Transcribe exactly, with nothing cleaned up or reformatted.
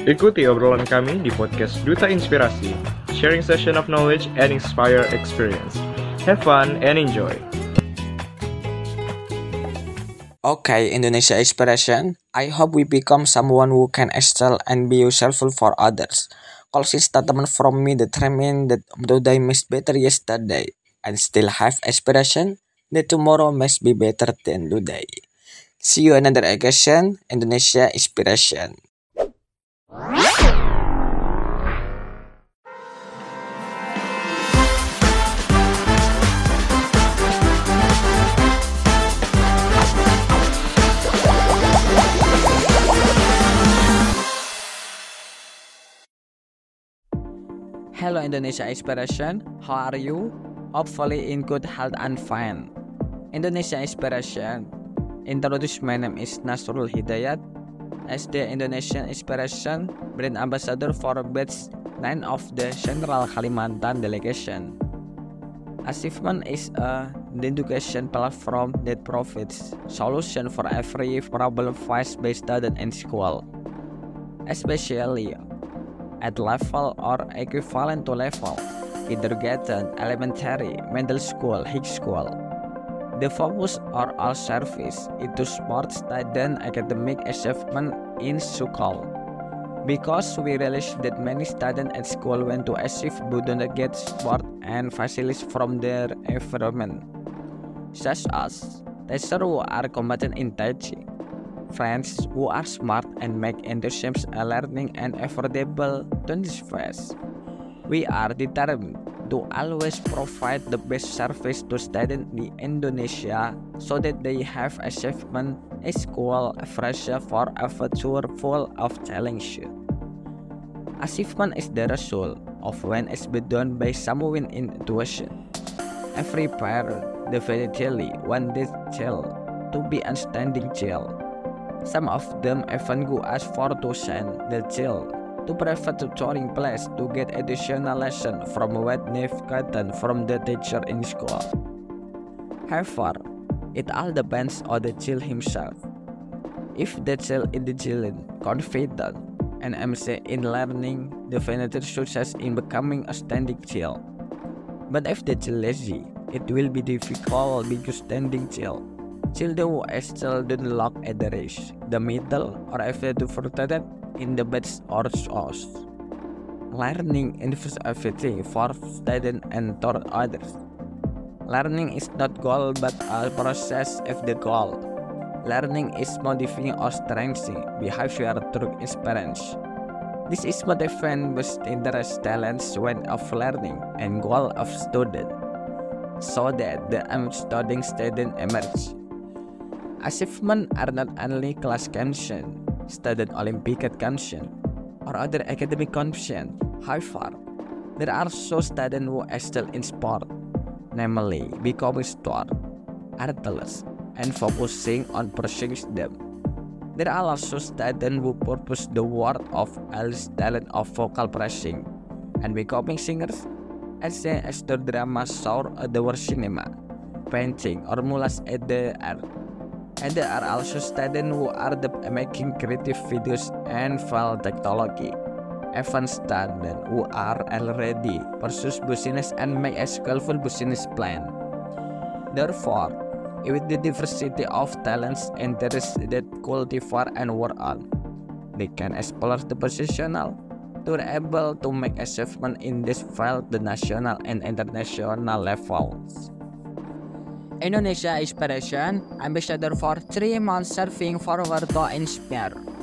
Ikuti obrolan kami di podcast Duta Inspirasi, sharing session of knowledge and inspire experience. Have fun and enjoy. Okay, Indonesia Inspiration. I hope we become someone who can excel and be useful for others. Closing statement from me determine that today must better yesterday and still have aspiration that tomorrow must be better than today. See you another occasion, Indonesia Inspiration. Hello Indonesia Inspiration, how are you? Hopefully in good health and fine. Indonesia Inspiration. Introduce, my name is Nasrul Hidayat as the Indonesian Inspiration brand ambassador for batch nine of the Central Kalimantan delegation. Achievement is a education platform that provides solution for every problem faced by students in school, especially at level or equivalent to level, kindergarten, elementary, middle school, high school. The focus or all service into support student academic achievement in school. Because we realize that many students at school want to achieve but don't get support and facilities from their environment, such as teachers who are competent in teaching, friends who are smart and make enthusiasm learning and affordable to this phase. We are determined to always provide the best service to students in Indonesia so that they have achievement in school fresh for a future full of challenges. Achievement is the result of when it's been done by someone in tuition. Every parent definitely wants their child to be a standing child. Some of them even go as far to send their child to private tutoring place to get additional lesson from what they've gotten from the teacher in school. However, it all depends on the child himself. If the child is diligent, confident, and ambitious in learning, definitely success in becoming a standing child. But if the child lazy, it will be difficult because standing child. Children who are still don't look at the race, the middle, or after to frustrated in the beds or source. Learning involves everything for students and toward others. Learning is not goal but a process of the goal. Learning is modifying or strengthening behavior through experience. This is what defines best interest talents when of learning and goal of student, so that the studying student emerge. Achievements are not only class competition, student Olympic competition, or other academic competition. However, there are also students who excel in sport, namely becoming sport, athletes, and focusing on pursuing them. There are also students who purpose the world of early talent of vocal pressing and becoming singers, as an actor drama show at the cinema, painting, or mulas at the art. And there are also students who are the making creative videos and file technology. Even students who are already pursue business and make a skillful business plan. Therefore, with the diversity of talents and interests that cultivate and work on, they can explore the positional to be able to make achievement in this field the national and international levels. Indonesia Inspiration, ambassador for three months serving forward to inspire.